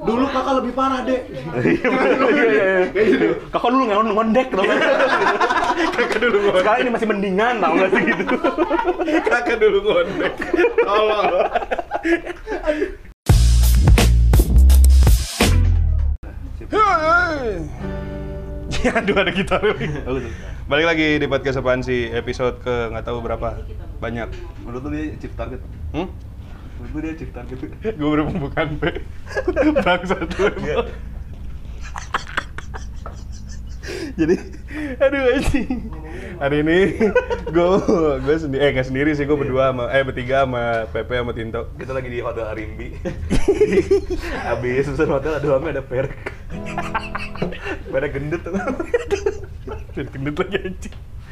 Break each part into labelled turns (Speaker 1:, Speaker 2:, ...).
Speaker 1: Dulu kakak lebih parah, Dek.
Speaker 2: Iya. Kakak dulu ngondek tau gak?
Speaker 1: Kakak dulu ngondek.
Speaker 2: Sekarang ini masih mendingan tau gak sih gitu.
Speaker 1: Kakak dulu ngondek. Tolong.
Speaker 3: Aduh, ada gitar lagi. Balik lagi di podcast apaan sih, episode ke nggak tahu berapa banyak.
Speaker 2: Menurut lu dia chief target? Menurut lu dia chief target?
Speaker 3: Gue baru pembukaan P. Bangsat lu emang. Jadi, aduh anjing. Hari ini gue sendiri, nggak sendiri sih, gue berdua sama bertiga sama Pepe sama Tinto.
Speaker 2: Kita lagi di Hotel Arimbi. Habis pesan hotel ada ada perek. Perek gendut tuh.
Speaker 3: Gendut lagi anjing.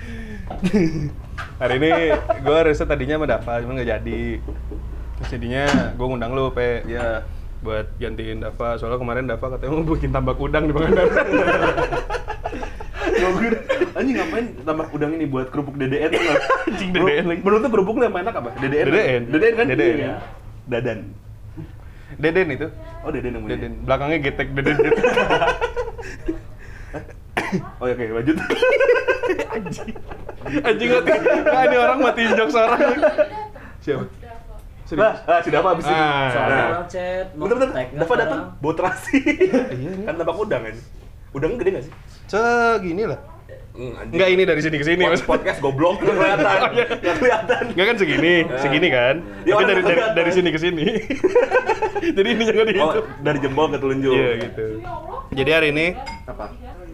Speaker 3: Hari ini gue riset tadinya sama Dava, cuma nggak jadi. Terus jadinya gue ngundang lu, Pe.
Speaker 2: Iya.
Speaker 3: Buat gantiin Dava, soalnya kemarin Dava katanya mau bikin tambak udang di Pangandaran.
Speaker 2: Anjing ngapain tambah udang ini buat kerupuk DDN tuh?
Speaker 3: Anjing DDN lagi.
Speaker 2: Menurut lu kerupuknya yang enak apa? DDN. DDN kan?
Speaker 3: DDN.
Speaker 2: Iya. Dadan.
Speaker 3: Deden itu.
Speaker 2: Oh, Deden yang punya.
Speaker 3: Deden. Belakangnya getek Deden.
Speaker 2: Oh, oke, lanjut.
Speaker 3: Anjing mati. Nah, ini orang matiin jokes orang. Siapa? Serius?
Speaker 2: Si Dava abis ini.
Speaker 4: Soalnya
Speaker 2: Nah.
Speaker 4: orang chat, mau
Speaker 2: Bentar,
Speaker 4: tag-nya
Speaker 2: Dava datang,
Speaker 4: sekarang.
Speaker 2: bawa terasi.
Speaker 3: Iya, iya.
Speaker 2: Kan tambak udang kan? Udangnya gede nggak sih?
Speaker 3: Segini lah. Enggak, ini dari sini ke sini.
Speaker 2: Podcast goblok nggak kelihatan. Nggak kelihatan.
Speaker 3: Enggak kan segini kan.
Speaker 2: Ya,
Speaker 3: Tapi
Speaker 2: orang kelihatan.
Speaker 3: dari sini ke sini. Jadi ini jangan
Speaker 2: Oh,
Speaker 3: dihitung.
Speaker 2: dari jempol ke telunjuk.
Speaker 3: Iya gitu. Jadi hari ini
Speaker 2: Apa?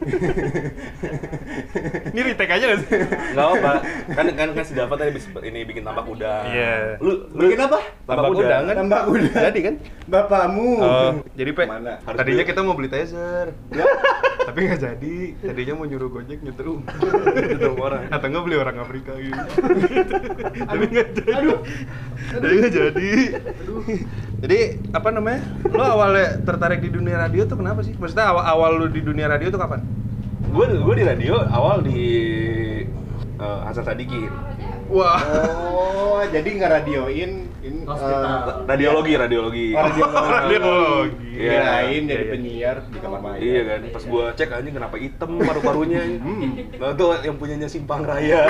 Speaker 3: ini retake aja nggak sih?
Speaker 2: Nggak apa. Kan si Dava tadi ini bikin tambak udang.
Speaker 3: Iya.
Speaker 2: Lu
Speaker 1: Bikin apa?
Speaker 3: Tambak udang kan?
Speaker 1: Tambak udang.
Speaker 3: Jadi kan?
Speaker 1: Bapakmu.
Speaker 3: Oh, jadi Pe,
Speaker 1: Mana?
Speaker 2: Harus
Speaker 3: tadinya
Speaker 2: beli.
Speaker 3: kita mau beli taser. Tapi nggak jadi. Tadinya mau nyuruh Gojek nyetrum.
Speaker 2: Nyetrum orang.
Speaker 3: Atau nggak beli orang Afrika gitu. Tapi nggak jadi. Tapi nggak jadi. Jadi apa namanya? Lo awalnya tertarik di dunia radio tuh kenapa sih? Maksudnya awal lo di dunia radio tuh kapan?
Speaker 2: Gue di radio awal di Hasan Sadikin.
Speaker 3: Wah.
Speaker 1: Oh, jadi ngeradioin ini
Speaker 4: Hospital.
Speaker 2: Radiologi.
Speaker 1: radiologi.
Speaker 3: Radiologi.
Speaker 2: Iya.
Speaker 1: Kirain jadi
Speaker 3: Iya.
Speaker 1: penyiar di kamar maya.
Speaker 2: Iya kan, pas gua cek anjing kenapa hitam paru-parunya. Nah itu yang punyanya Simpang Raya.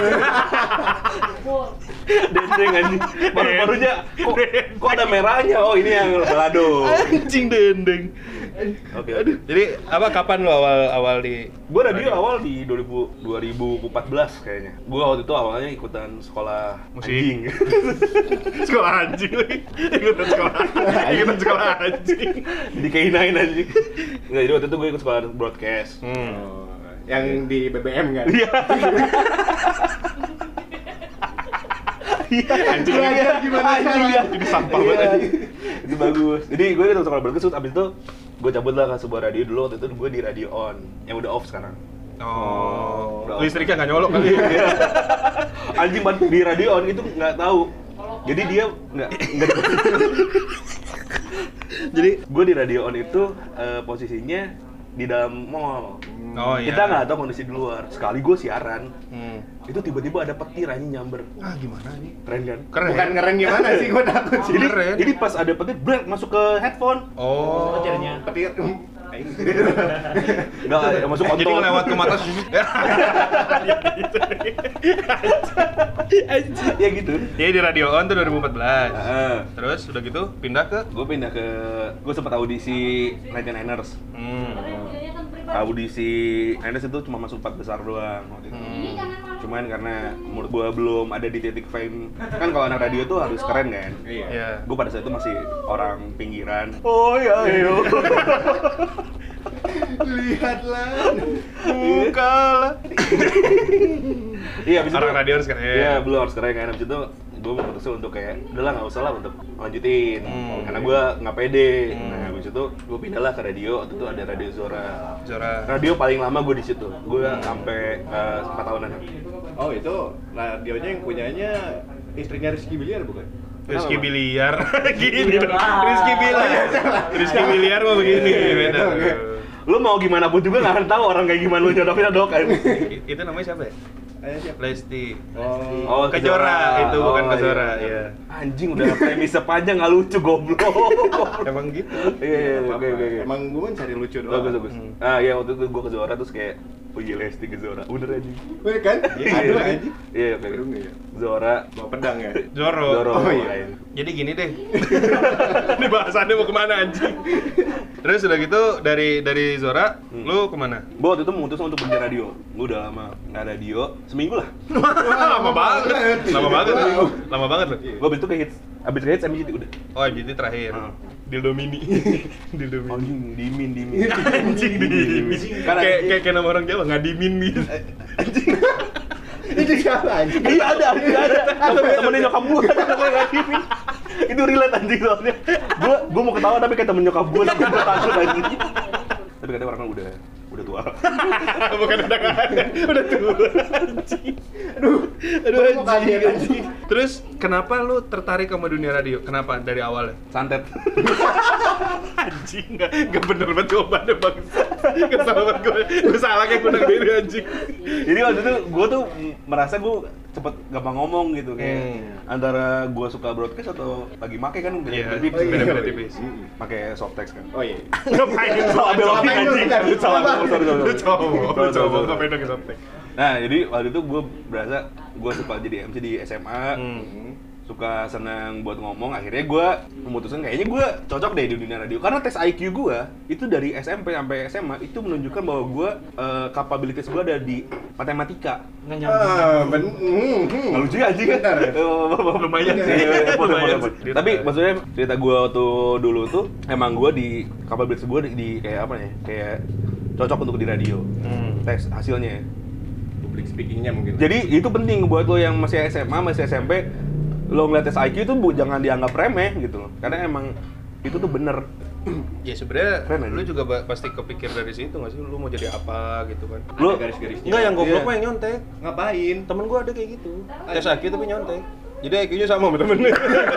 Speaker 2: Dendeng anjing. Paru-parunya kok ada merahnya? Oh ini yang balado.
Speaker 3: Anjing dendeng.
Speaker 2: Oke.
Speaker 3: Jadi apa kapan lo awal di
Speaker 2: Gua radio awal di 2014 kayaknya. Gua waktu itu awalnya ikutan sekolah
Speaker 3: Musik.
Speaker 2: anjing.
Speaker 3: sekolah anjing lagi? Ikutan sekolah anjing.
Speaker 2: Jadi kainain anjing. Enggak, jadi waktu itu gue ikut sekolah broadcast.
Speaker 1: Oh, yang di BBM kan?
Speaker 3: Anjing
Speaker 1: Belajar gimana caranya?
Speaker 3: jadi sampah
Speaker 2: Iya,
Speaker 3: banget anjing.
Speaker 2: itu bagus. Jadi gue ikut sekolah broadcast, terus abis itu gue cabut lah ke sebuah radio dulu. Waktu itu gue di Radio On, yang udah off sekarang.
Speaker 3: Oh, listriknya nggak nyolok kali.
Speaker 2: Anjing banget di Radio On itu nggak tahu. Jadi dia nggak. Jadi gue di Radio On itu posisinya di dalam mall.
Speaker 3: Oh iya.
Speaker 2: Kita nggak tahu kondisi di luar. Sekali gue siaran,
Speaker 3: Hmm.
Speaker 2: itu tiba-tiba ada petir anjing nyamber.
Speaker 3: Ah gimana nih?
Speaker 2: Keren kan?
Speaker 3: Keren.
Speaker 1: Bukan keren gimana sih, gua takut sih.
Speaker 2: Jadi,
Speaker 3: Keren.
Speaker 2: jadi pas ada petir, brek masuk ke headphone.
Speaker 3: Oh.
Speaker 4: Petirnya.
Speaker 1: Petir.
Speaker 2: Nggak, masuk kontol.
Speaker 3: Jadi lewat ke mata sini.
Speaker 2: Ya gitu.
Speaker 3: Jadi di Radio On tuh 2014.
Speaker 2: Heeh.
Speaker 3: Terus udah gitu pindah ke
Speaker 2: Gue pindah ke, gue sempat audisi 99ers. Audisi 99ers itu cuma masuk 4 besar doang waktu itu. Cuman karena menurut gue belum ada di titik fame. Kan kalau anak radio tuh harus keren kan.
Speaker 1: Iya.
Speaker 3: ya.
Speaker 2: Gue pada saat itu masih orang pinggiran. Oh ya, ayo.
Speaker 1: Lihatlah.
Speaker 3: Bukalah.
Speaker 2: Iya, abis
Speaker 3: Orang
Speaker 2: itu
Speaker 3: radio harus keren.
Speaker 2: Iya, belum harus keren kan. Abis itu gue memutuskan untuk kayak, udahlah nggak usah lah untuk lanjutin. Karena gue nggak pede. Nah, abis itu gue pindah lah ke radio. Waktu itu ada Radio Zora.
Speaker 3: Zora.
Speaker 2: Radio paling lama gue di situ. Gue sampai 4 tahunan.
Speaker 1: Oh, itu radionya yang punyanya istrinya Rizky Biliar bukan?
Speaker 3: Rizky
Speaker 2: Kenapa?
Speaker 3: Biliar. Gini dong.
Speaker 4: Ah.
Speaker 3: Rizky Biliar. Rizky Biliar mah begini. Beda.
Speaker 2: Lu mau gimana pun juga nggak akan tahu orang kayak gimana lu nyodok kan.
Speaker 3: Itu namanya siapa ya?
Speaker 1: Ayah siapa?
Speaker 3: Lesti.
Speaker 1: Oh,
Speaker 3: Kejora itu bukan
Speaker 2: Oh,
Speaker 3: Kejora,
Speaker 2: iya.
Speaker 3: iya.
Speaker 2: Anjing udah premis sepanjang nggak lucu goblok.
Speaker 3: Emang gitu.
Speaker 2: Iya,
Speaker 1: Apa-apa.
Speaker 2: oke.
Speaker 1: Emang gue cari lucu doang.
Speaker 2: Bagus. Ah iya waktu itu gue ke Zora terus kayak oh iya Lesti ke Zora. Bener anjing.
Speaker 1: Wih kan? Aduh anjing.
Speaker 2: Iya, oke.
Speaker 1: Aduh ya.
Speaker 2: Zora.
Speaker 1: Bawa pedang ya.
Speaker 3: Zoro.
Speaker 1: Oh, iya.
Speaker 2: makanya.
Speaker 3: Jadi gini deh. Ini bahasannya mau kemana anjing? Terus udah gitu dari Zora, lu kemana?
Speaker 2: Gue waktu itu memutuskan untuk kerja radio. Gue udah lama nggak radio, seminggu lah.
Speaker 3: Lama banget. Lama banget loh.
Speaker 2: Gue abis itu ke hits, MGT udah.
Speaker 3: Oh, jadi terakhir. Dildo mini. Dildo mini.
Speaker 2: Anjing, dimin.
Speaker 3: Anjing dimin.
Speaker 2: Karena-
Speaker 3: Kayak nama orang Jawa, ngadimin gitu.
Speaker 1: Itu siapa anjing?
Speaker 2: Iya ada. Temennya nyokap gue ada namanya ngadimin. Itu relate anjing soalnya. Gue mau ketawa tapi kayak temen nyokap gue tapi gue takut anjing. Tapi katanya orangnya udah tua.
Speaker 3: Bukan udah nggak ada, udah tua anjing. Aduh
Speaker 1: Kok kaget, anjing?
Speaker 3: Terus kenapa lu tertarik sama dunia radio? Kenapa dari awalnya?
Speaker 2: Santet.
Speaker 3: Anjing, nggak bener banget jawabannya bang. Kesal banget gue salah kayak gue diri anjing.
Speaker 2: Jadi waktu itu gue tuh merasa gue cepet gampang ngomong gitu kayak antara gue suka broadcast atau lagi make kan
Speaker 3: Iya,
Speaker 2: beda-beda
Speaker 3: tipis.
Speaker 2: pakai soft text kan.
Speaker 1: Oh iya.
Speaker 3: Ngapain
Speaker 2: Salah belokin
Speaker 1: Ngapain lu,
Speaker 2: anjing.
Speaker 1: bentar?
Speaker 2: Salah, sorry.
Speaker 3: Lu cowok
Speaker 2: Sorry.
Speaker 3: ngapain dong sampai?
Speaker 2: Nah, jadi waktu itu gue berasa gue suka jadi MC di SMA, suka senang buat ngomong. Akhirnya gue memutuskan kayaknya gue cocok deh di dunia radio karena tes IQ gue itu dari SMP sampai SMA itu menunjukkan bahwa gue capabilities gue ada di matematika.
Speaker 3: Nggak nyambung.
Speaker 2: Nggak lucu ya anjing kan?
Speaker 3: Lumayan sih.
Speaker 2: Iya,
Speaker 3: Lumayan
Speaker 2: boleh.
Speaker 3: sih.
Speaker 2: Tapi maksudnya cerita gue waktu dulu tuh emang gue di capabilities gue di kayak apa ya? Kayak cocok untuk di radio. Tes hasilnya.
Speaker 1: Public speakingnya mungkin.
Speaker 2: Jadi itu penting buat lo yang masih SMA, masih SMP, lo ngeliat tes IQ itu jangan dianggap remeh gitu loh. Karena emang itu tuh bener.
Speaker 3: Ya sebenarnya
Speaker 2: Keren aja.
Speaker 3: lu juga pasti kepikir dari situ nggak sih? Lu mau jadi apa gitu kan?
Speaker 2: Lo
Speaker 1: Ada garis-garisnya.
Speaker 3: Enggak, yang goblok
Speaker 2: Iya.
Speaker 3: mah yang nyontek.
Speaker 1: Ngapain?
Speaker 3: Temen gua ada kayak gitu. Tes IQ tapi nyontek. Jadi IQ-nya sama sama temennya.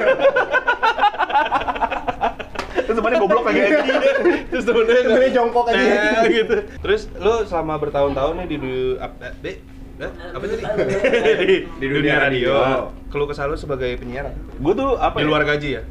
Speaker 2: terus sebenarnya goblok lagi anjing.
Speaker 3: Terus temennya
Speaker 1: jongkok aja.
Speaker 3: gitu. Terus lu selama bertahun-tahun nih apa tadi? di dunia radio. Keluh kesah lu sebagai penyiar
Speaker 2: Gue tuh apa?
Speaker 3: di
Speaker 2: ya?
Speaker 3: luar gaji ya?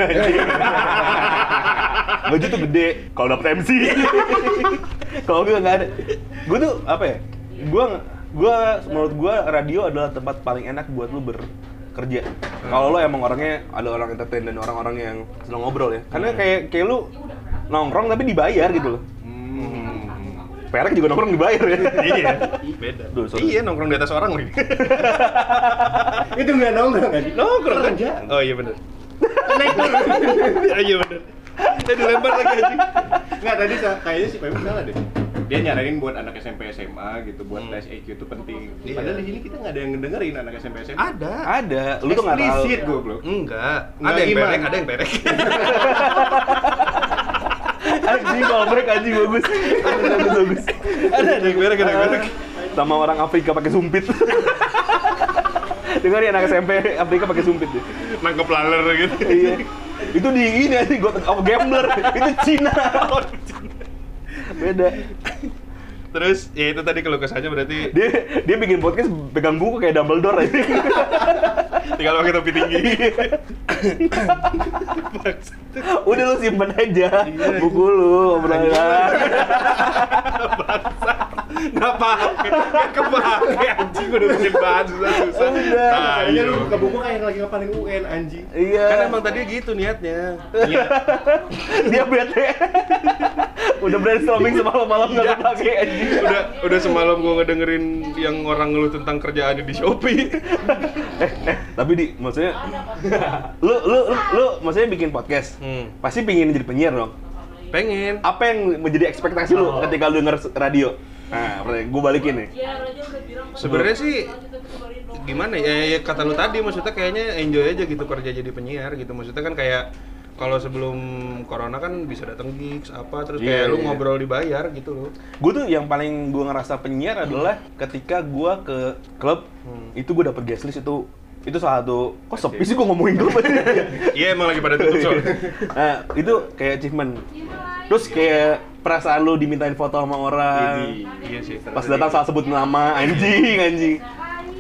Speaker 2: Gaji tuh gede kalau dapet MC. Kalau gue nggak ada. Gue tuh apa ya? Gue menurut gue radio adalah tempat paling enak buat lu bekerja. Kalau lo emang orangnya ada orang entertain dan orang-orang yang senang ngobrol ya. Karena kayak lu nongkrong tapi dibayar gitu loh. Perek juga nongkrong dibayar ya.
Speaker 3: Iya, beda.
Speaker 2: Duh, sorry.
Speaker 3: Iya, nongkrong di atas orang lagi.
Speaker 1: Itu nggak nongkrong anjing.
Speaker 3: Nongkrong kan?
Speaker 1: Kerja.
Speaker 3: Oh iya bener. Naik dulu. Iya bener. Dilempar lagi anjing.
Speaker 1: Nggak, tadi kayaknya si Pemu salah deh. Dia nyaranin buat anak SMP SMA gitu, buat tes IQ itu penting.
Speaker 3: Iya.
Speaker 1: Padahal di sini kita nggak ada yang ngedengerin anak SMP SMA.
Speaker 3: Ada.
Speaker 2: Ada. Lu tuh nggak tahu.
Speaker 1: Eksplisit goblok.
Speaker 3: Enggak.
Speaker 1: Enggak
Speaker 3: Ada yang
Speaker 1: gimana?
Speaker 3: perek, ada yang perek.
Speaker 2: Anjing kalau break anjing bagus. Bagus.
Speaker 3: Ada yang perek, ada yang perek.
Speaker 2: Sama orang Afrika pakai sumpit. Dengar ya anak SMP Afrika pakai sumpit deh.
Speaker 3: Nangkep laler gitu.
Speaker 2: Iya. Itu di ini aja gambler. Itu Cina. Beda.
Speaker 3: Terus ya itu tadi kalau kesahnya berarti
Speaker 2: Dia bikin podcast pegang buku kayak Dumbledore aja.
Speaker 3: tinggal pakai topi tinggi.
Speaker 2: Udah lu simpen aja buku lu, obrolan.
Speaker 3: Nggak pakai, nggak kepake anjing udah bikin bahan susah-susah.
Speaker 2: Udah.
Speaker 1: Kayaknya lu buka buku kayak lagi ngapalin UN anjing.
Speaker 2: Iya.
Speaker 3: Kan emang tadi gitu niatnya.
Speaker 1: Iya.
Speaker 2: Dia bete. Udah brainstorming semalam-malam nggak kepake anjing.
Speaker 3: Udah semalam gua ngedengerin yang orang ngeluh tentang kerjaannya di Shopee.
Speaker 2: Tapi maksudnya lu maksudnya bikin podcast. Pasti pingin jadi penyiar dong.
Speaker 3: Pengen.
Speaker 2: Apa yang menjadi ekspektasi lu ketika lu denger radio? Nah, gue balikin nih.
Speaker 3: Sebenarnya sih gimana ya, kata lu tadi maksudnya kayaknya enjoy aja gitu kerja jadi penyiar gitu. Maksudnya kan kayak kalau sebelum corona kan bisa datang gigs apa terus kayak lu ngobrol dibayar gitu loh.
Speaker 2: Gue tuh yang paling gue ngerasa penyiar adalah ketika gue ke klub itu gue dapet guest list itu salah satu kok sepi sih gue ngomongin klub aja.
Speaker 3: Iya emang lagi pada tutup soalnya.
Speaker 2: Nah itu kayak achievement. Terus kayak perasaan lu dimintain foto sama orang.
Speaker 3: Iya sih.
Speaker 2: Pas datang salah sebut nama anjing.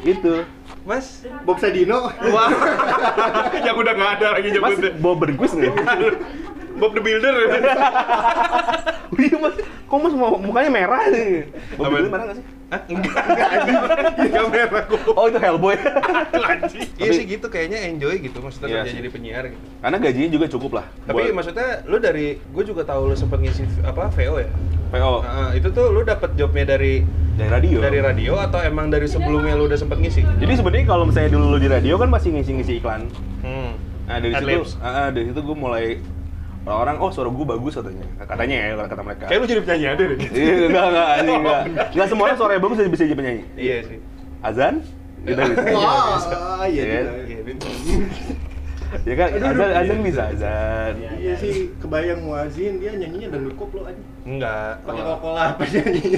Speaker 2: Itu.
Speaker 3: Mas,
Speaker 1: Bob Sadino.
Speaker 3: wah, yang udah nggak ada lagi
Speaker 2: Mas
Speaker 3: nyebutnya.
Speaker 2: bawa berkuis nggak?
Speaker 3: Bob the Builder.
Speaker 2: Iya mas, kok mas mukanya merah nih? Bawa
Speaker 3: Apa?
Speaker 2: berkuis merah nggak sih?
Speaker 3: Hah? Enggak merah kok.
Speaker 2: Oh itu Hellboy.
Speaker 3: Iya sih gitu, kayaknya enjoy gitu maksudnya
Speaker 2: Iya
Speaker 3: kerja
Speaker 2: sih.
Speaker 3: jadi penyiar gitu.
Speaker 2: Karena gajinya juga cukup lah.
Speaker 3: Tapi
Speaker 2: buat
Speaker 3: maksudnya lu dari, gue juga tahu lu sempet ngisi apa VO ya?
Speaker 2: PO
Speaker 3: Nah, itu tuh lu dapet jobnya dari
Speaker 2: dari radio.
Speaker 3: atau emang dari sebelumnya lu udah sempet ngisi?
Speaker 2: Jadi sebenarnya kalau misalnya dulu lu di radio kan masih ngisi-ngisi iklan.
Speaker 3: Hmm.
Speaker 2: Nah dari
Speaker 3: Adlibs.
Speaker 2: situ, dari situ gue mulai orang oh suara gue bagus katanya ya kata mereka.
Speaker 3: Kayak lu jadi penyanyi ada deh.
Speaker 2: Iya enggak semua orang suaranya bagus bisa jadi penyanyi.
Speaker 3: Iya sih.
Speaker 2: Azan kita bisa.
Speaker 1: Wah, iya
Speaker 2: Iya.
Speaker 1: juga.
Speaker 3: Iya, Bin.
Speaker 2: Ya kan azan bisa azan.
Speaker 1: Iya sih, kebayang muazin dia nyanyinya dangdut koplo aja.
Speaker 3: Enggak.
Speaker 1: Pakai Coca-Cola apa nyanyinya.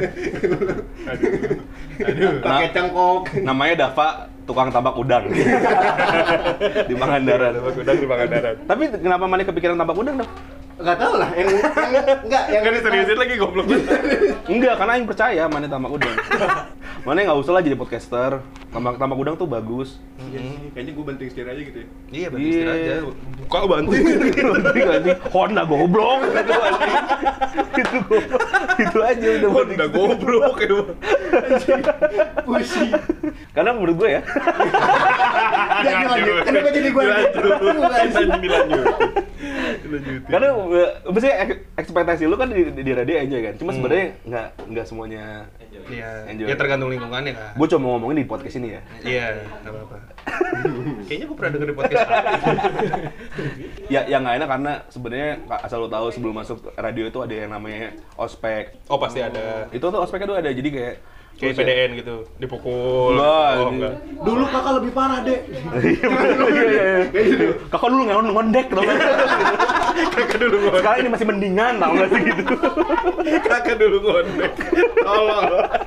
Speaker 3: Aduh.
Speaker 1: Pakai cangkok.
Speaker 2: Namanya Dava tukang tambak udang di Pangandaran.
Speaker 3: Udang di Pangandaran.
Speaker 2: Tapi kenapa mana kepikiran tambak udang dong?
Speaker 1: Enggak tahu lah, yang enggak yang
Speaker 3: Enggak diseriusin lagi goblok.
Speaker 2: Enggak, karena Aing percaya mana tambak udang. Mana nggak usah lah jadi podcaster. Tambak udang tuh bagus.
Speaker 1: Iya sih, kayaknya gue banting setir aja gitu ya.
Speaker 3: Iya, bantu istirahat aja. Buka banting.
Speaker 2: Banting anjing. Honda goblok gitu anjing. Itu goblok. Itu aja udah banting.
Speaker 3: Udah goblok emang.
Speaker 1: Pusing.
Speaker 2: Karena menurut gue ya,
Speaker 1: Jangan lanjut. Kenapa jadi gue?
Speaker 3: Dilanjut.
Speaker 2: karena maksudnya ekspektasi lu kan di radio enjoy kan. Cuma sebenarnya nggak semuanya
Speaker 3: Iya.
Speaker 2: enjoy.
Speaker 3: Ya tergantung lingkungannya kan.
Speaker 2: Gue cuma ngomongin di podcast ini ya.
Speaker 3: Iya, enggak apa-apa. Kayaknya gue pernah denger di podcast.
Speaker 2: Ya yang nggak enak karena sebenarnya asal lo tahu sebelum masuk radio itu ada yang namanya ospek.
Speaker 3: Oh, pasti ada.
Speaker 2: Itu tuh ospeknya tuh ada jadi kayak
Speaker 3: Kayak PDN gitu, dipukul.
Speaker 2: Enggak,
Speaker 3: Oh,
Speaker 2: ini-
Speaker 3: enggak.
Speaker 1: Dulu kakak lebih parah, Dek.
Speaker 2: Iya. Kakak dulu ngondek tau nggak?
Speaker 3: Kakak dulu ngondek.
Speaker 2: Sekarang ini masih mendingan tau nggak sih gitu.
Speaker 3: Kakak dulu ngondek. Tolong.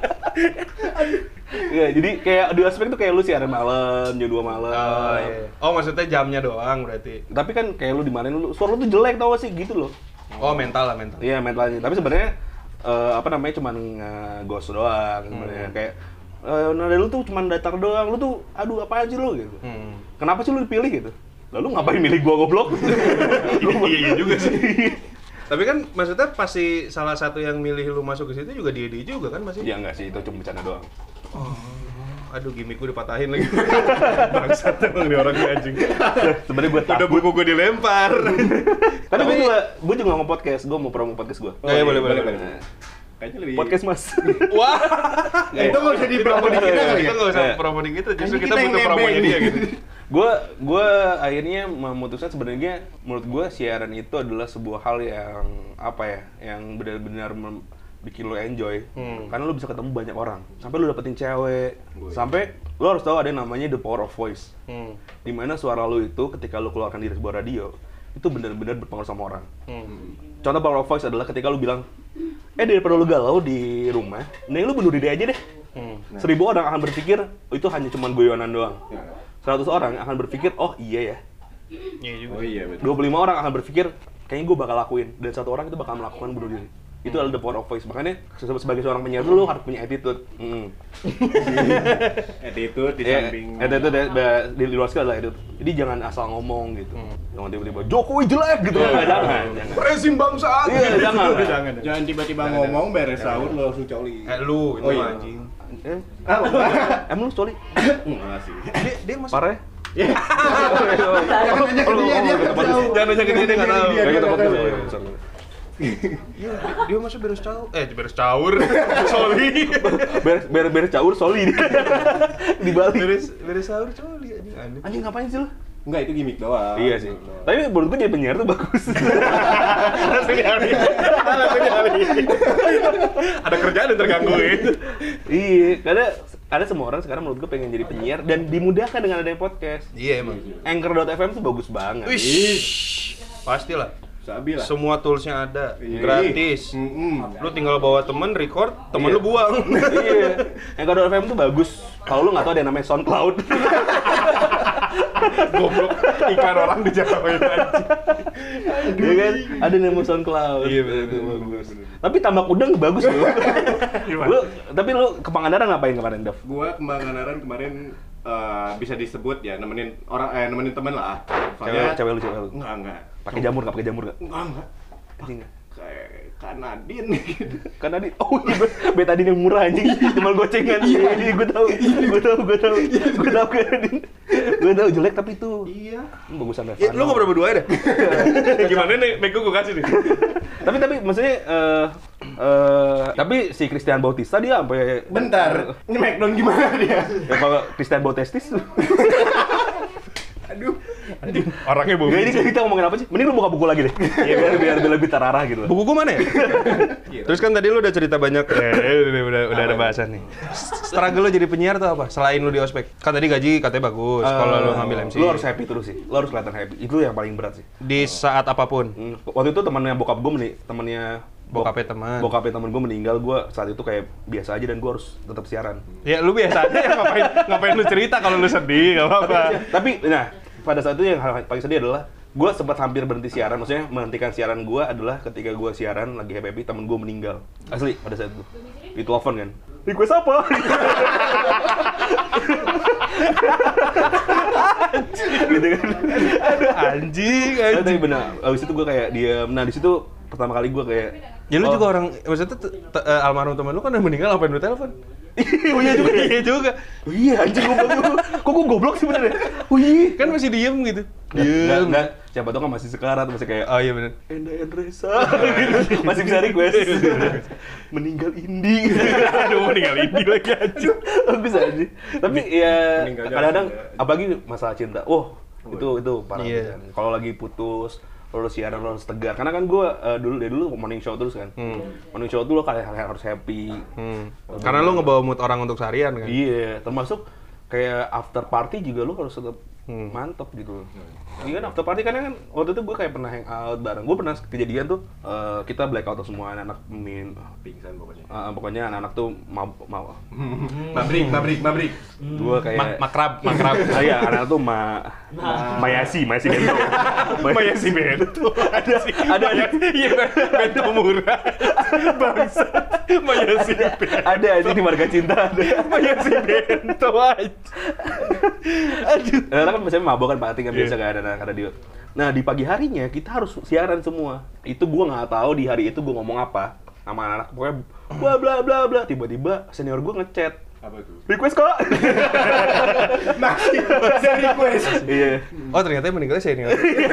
Speaker 2: Iya, jadi kayak di ospek tuh kayak lu siaran malam, jam 2 malam.
Speaker 3: Oh, iya. Oh, maksudnya jamnya doang berarti.
Speaker 2: Tapi kan kayak lu dimarahin lu, suara lu tuh jelek tau gak sih gitu loh.
Speaker 3: Oh, mental lah, mental.
Speaker 2: Iya mentalnya. Tapi sebenarnya apa namanya cuman ghost doang sebenarnya kayak nada lu tuh cuman datar doang. Lu tuh aduh apaan sih lu gitu. Kenapa sih lu dipilih gitu? Lalu ngapain milih gua goblok?
Speaker 3: Iya juga sih. Tapi kan maksudnya pasti salah satu yang milih lu masuk ke situ juga dia juga kan masih.
Speaker 2: Ya enggak sih, itu cuma bercanda doang.
Speaker 3: Aduh, gimmick gue dipatahin lagi. Bangsat emang nih orang anjing.
Speaker 2: Sebenarnya gua
Speaker 3: Udah
Speaker 2: takut.
Speaker 3: buku gue dilempar.
Speaker 2: Tapi gua juga ngomong podcast, gua mau promo podcast gua.
Speaker 3: Oh, iya, boleh.
Speaker 2: Nah,
Speaker 1: Kayaknya lebih
Speaker 2: podcast Mas.
Speaker 3: Wah.
Speaker 1: Itu nggak usah dipromo di kita kali
Speaker 3: Kita
Speaker 1: ya.
Speaker 3: nggak usah
Speaker 2: Iya.
Speaker 3: promo di kita, justru
Speaker 1: Kan
Speaker 3: kita
Speaker 1: kita yang
Speaker 3: butuh promonya
Speaker 1: nebeng.
Speaker 3: dia gitu.
Speaker 2: Gue akhirnya memutuskan sebenarnya menurut gue siaran itu adalah sebuah hal yang apa ya, yang benar-benar bikin lo enjoy. Karena lo bisa ketemu banyak orang, sampai lo dapetin cewek, sampai lo harus tahu ada yang namanya the power of voice. Dimana suara lo itu ketika lo keluarkan di sebuah radio itu benar-benar berpengaruh sama orang. Contoh power of voice adalah ketika lo bilang, daripada lo galau di rumah, mending lo bunuh diri aja deh. 1000 orang akan berpikir oh, itu hanya cuma guyonan doang. 100 orang akan berpikir, oh iya ya.
Speaker 3: Iya juga.
Speaker 1: Oh iya betul.
Speaker 2: 25 orang akan berpikir, kayaknya gue bakal lakuin. Dan 1 orang itu bakal melakukan bunuh diri. Itu adalah the power of voice. Makanya sebagai seorang penyiar dulu harus punya attitude.
Speaker 1: Attitude di
Speaker 2: Ya,
Speaker 1: samping.
Speaker 2: attitude di luar skill adalah attitude. Jadi jangan asal ngomong gitu. Jangan tiba-tiba Jokowi jelek gitu. Jangan.
Speaker 3: Rezim bangsat.
Speaker 2: Iya, jangan.
Speaker 1: Jangan tiba-tiba ngomong beres sahur lo langsung coli.
Speaker 3: Lu itu
Speaker 1: Oh, iya.
Speaker 3: anjing.
Speaker 2: Emang lu coli?
Speaker 1: Enggak sih.
Speaker 3: Dia masuk.
Speaker 2: Parah ya?
Speaker 1: Jangan nanya ke dia, dia nggak tahu.
Speaker 3: Jangan nanya ke dia, dia nggak tahu.
Speaker 1: Dia
Speaker 2: Kayak kita
Speaker 1: nggak
Speaker 2: podcast.
Speaker 1: tahu.
Speaker 3: Iya, dia masuk beres caur. Beres caur. Sorry.
Speaker 2: Beres caur soli dia. Di Bali.
Speaker 3: Beres sahur coli anjing. Aneh.
Speaker 2: Anjing ngapain sih lu?
Speaker 1: Enggak, itu gimmick doang.
Speaker 2: Iya sih. Tapi menurut gue jadi penyiar tuh bagus.
Speaker 3: Langsung dialih. Ada kerjaan yang terganggu ya.
Speaker 2: Iya, karena ada semua orang sekarang menurut gue pengen jadi penyiar dan dimudahkan dengan adanya podcast.
Speaker 3: Iya emang.
Speaker 2: Anchor.fm tuh bagus banget.
Speaker 3: Wish. Pastilah.
Speaker 1: Sabi lah.
Speaker 3: Semua toolsnya ada,
Speaker 1: Iya.
Speaker 3: gratis. Lu tinggal bawa temen, record, temen
Speaker 2: Iya.
Speaker 3: lu buang.
Speaker 2: Iya, Anchor.fm tuh bagus. Kalau lu nggak tahu ada yang namanya SoundCloud.
Speaker 3: Goblok, iklan orang dijatuhin anjing.
Speaker 2: Iya kan? Ada nama SoundCloud.
Speaker 3: Iya, bener,
Speaker 2: Itu
Speaker 3: bener,
Speaker 2: bagus. Tapi tambak udang bagus loh.
Speaker 3: Gimana?
Speaker 2: Tapi lu ke Pangandaran ngapain kemarin, Dav?
Speaker 1: Gua ke Pangandaran kemarin bisa disebut ya nemenin nemenin temen lah.
Speaker 2: Cewek lu.
Speaker 1: Enggak.
Speaker 2: Pakai jamur enggak?
Speaker 1: Enggak.
Speaker 2: Anjing.
Speaker 1: Kayak Kak Nadine gitu.
Speaker 2: Karena oh iya, betadine yang murah anjing, cuma gocengan. Iya, gue tahu Kak Nadine. Gue tahu jelek tapi itu.
Speaker 1: Iya.
Speaker 2: Bagusan Revano.
Speaker 3: Ya, lu ngobrol berdua deh. Gimana nih, mic gue kasih nih.
Speaker 2: Tapi maksudnya tapi si Christian Bautista dia sampai
Speaker 1: Bentar. Smackdown gimana dia?
Speaker 2: ya kalau Christian Bautestis.
Speaker 1: Aduh.
Speaker 3: Orangnya
Speaker 2: Gak, ini kita ngomongin apa sih? Mending lu buka buku lagi deh. Iya, biar lebih terarah gitu.
Speaker 3: Buku gue mana ya? Terus kan tadi lu udah cerita banyak. Udah ada bahasan nih. Struggle lu jadi penyiar tuh apa? Selain lu di ospek. Kan tadi gaji katanya bagus kalau lu ngambil MC.
Speaker 2: Lu harus happy terus sih. Lu harus kelihatan happy. Itu yang paling berat sih.
Speaker 3: Di saat apapun.
Speaker 2: Waktu itu temannya bokap gue temannya
Speaker 3: Bokapnya teman.
Speaker 2: gue meninggal, gue saat itu kayak biasa aja dan gue harus tetap siaran.
Speaker 3: Ya lu biasa aja ya, ngapain lu cerita kalau lu sedih, enggak apa-apa.
Speaker 2: Tapi nah, pada saat itu yang hal paling sedih adalah gue sempat hampir berhenti siaran. Maksudnya menghentikan siaran gue adalah ketika gue siaran lagi happy temen gue meninggal. Asli pada saat itu. Di telepon kan. Request apa? Gitu kan.
Speaker 3: Anjing.
Speaker 2: Tapi benar. Abis itu gue kayak diam. Nah di situ pertama kali gue kayak.
Speaker 3: Ya lu juga orang, maksudnya almarhum teman lu kan udah meninggal, ngapain lu telepon?
Speaker 2: Oh iya juga.
Speaker 3: Iya juga.
Speaker 2: Oh iya anjing goblok. Kok gue goblok sih bener ya? Oh iya.
Speaker 3: Kan masih diem gitu.
Speaker 2: Enggak. Siapa tau kan masih sekarat, masih kayak
Speaker 3: Oh iya benar.
Speaker 2: Enda Endresa gitu. Masih bisa request. Meninggal Indi.
Speaker 3: Aduh, meninggal ini lagi anjing.
Speaker 2: Bagus aja. Tapi ya
Speaker 1: meninggal
Speaker 2: kadang-kadang
Speaker 1: jauh.
Speaker 2: apalagi masalah cinta. Itu parah.
Speaker 3: Iya.
Speaker 2: Kalau lagi putus, lo siaran lo harus tegar. Karena kan gue dulu morning show terus kan. Morning show tuh lo kayak harus happy.
Speaker 3: Karena lu ngebawa mood orang untuk seharian kan.
Speaker 2: Iya, termasuk kayak after party juga lo harus tetap mantep gitu. Iya kan after party kan waktu itu gue kayak pernah hangout bareng. Gue pernah kejadian tuh kita blackout tuh semua anak-anak
Speaker 1: Pingsan pokoknya.
Speaker 2: pokoknya anak-anak tuh
Speaker 1: Mabrik.
Speaker 2: Gue kayak
Speaker 3: Makrab.
Speaker 2: Iya, anak tuh Mayasi Bento.
Speaker 3: Mayasi Bento. Ada. Iya, Bento murah. Bangsa. Mayasi Bento.
Speaker 2: Ada aja di Marga Cinta ada.
Speaker 3: Mayasi Bento aja. Aduh.
Speaker 2: Karena kan biasanya mabok kan party kan biasa kan ada di. Nah di pagi harinya kita harus siaran semua. Itu gue nggak tahu di hari itu gue ngomong apa sama anak-anak pokoknya bla bla bla. Tiba-tiba senior gue ngechat.
Speaker 1: Apa tuh?
Speaker 2: Request kok.
Speaker 1: Masih ada request.
Speaker 2: Iya.
Speaker 3: Oh ternyata yang meninggalnya saya nih.